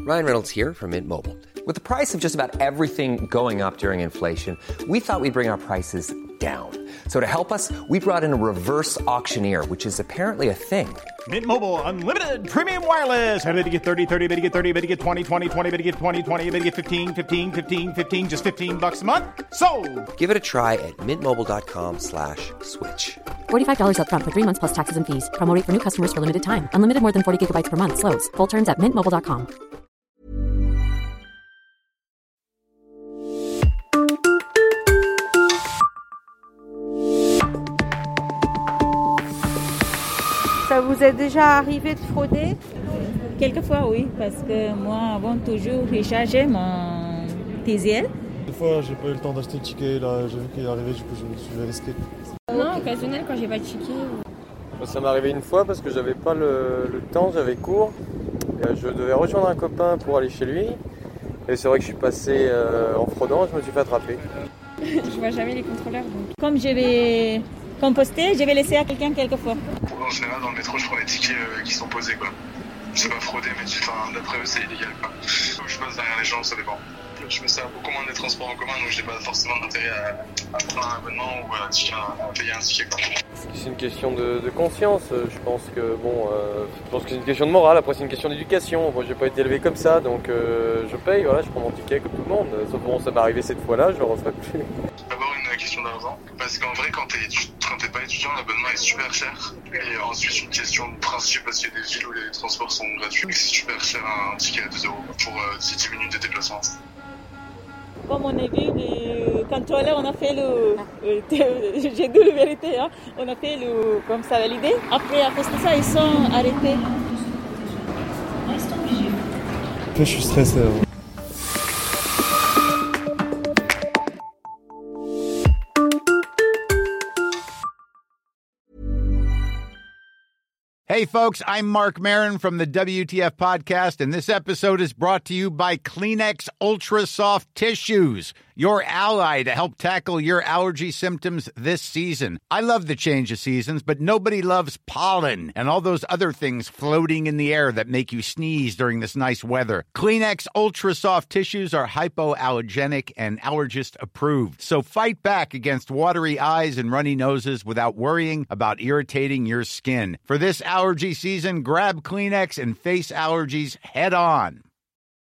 Ryan Reynolds here from Mint Mobile. With the price of just about everything going up during inflation, we thought we'd bring our prices down. So to help us, we brought in a reverse auctioneer, which is apparently a thing. Mint Mobile Unlimited Premium Wireless. How to get 30, 30, bit to get 30, bit to get 20, 20, 20, bit to get 20, 20, bit to get 15, 15, 15, 15, just $15 a month? Sold! Give it a try at mintmobile.com/switch. $45 up front for 3 months plus taxes and fees. Promo rate for new customers for limited time. Unlimited more than 40 gigabytes per month. Slows full terms at mintmobile.com. Ça vous est déjà arrivé de frauder? Quelquefois, oui, parce que moi, avant, toujours, j'ai chargé mon TZL. Des fois, j'ai pas eu le temps d'acheter le ticket, là, j'ai vu qu'il est arrivé, du coup, je me suis risqué. Non, occasionnel, quand j'ai pas de ticket. Ça m'est arrivé une fois parce que j'avais pas le temps, j'avais cours. Je devais rejoindre un copain pour aller chez lui. Et c'est vrai que je suis passé en fraudant, je me suis fait attraper. Je vois jamais les contrôleurs. Donc. Comme je vais composter, je vais laisser à quelqu'un quelquefois. En général, dans le métro, je prends les tickets qui sont posés, quoi. Je sais pas frauder, mais d'après eux, c'est illégal, quoi. Je passe derrière les gens, ça dépend. Je me sers beaucoup moins des transports en commun, donc j'ai pas forcément d'intérêt à prendre un abonnement ou à payer un ticket, quoi. C'est une question de conscience. Je pense que c'est une question de morale. Après, c'est une question d'éducation. Moi, j'ai pas été élevé comme ça, donc je paye. Voilà, je prends mon ticket comme tout le monde. Sauf bon, ça m'est arrivé cette fois-là, je le referai plus. D'abord une question d'argent, parce qu'en vrai, quand t'es pas étudiant, l'abonnement est super cher. Et ensuite, une question de principe, parce qu'il y a des villes où les transports sont gratuits. C'est super cher un ticket à 2 € pour 10 minutes de déplacement. Comme on a vu les contrôleurs, on a fait j'ai dit la vérité, hein, on a fait comme ça validé. Après, à cause de ça, ils sont arrêtés. Je suis stressé. Hey, folks, I'm Mark Maron from the WTF Podcast, and this episode is brought to you by Kleenex Ultra Soft Tissues, your ally to help tackle your allergy symptoms this season. I love the change of seasons, but nobody loves pollen and all those other things floating in the air that make you sneeze during this nice weather. Kleenex Ultra Soft Tissues are hypoallergenic and allergist approved, so fight back against watery eyes and runny noses without worrying about irritating your skin. For this allergy season, grab Kleenex and face allergies head on.